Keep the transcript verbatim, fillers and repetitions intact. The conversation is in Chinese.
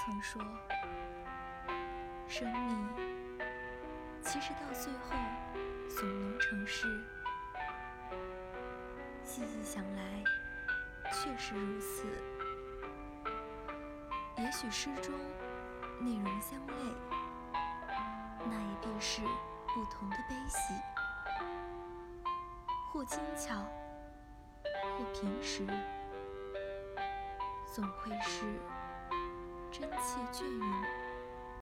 常说，生命其实到最后总能成事。细细想来，确实如此。也许诗中内容相类，那也必是不同的悲喜，或精巧，或平实，总会是真切隽永。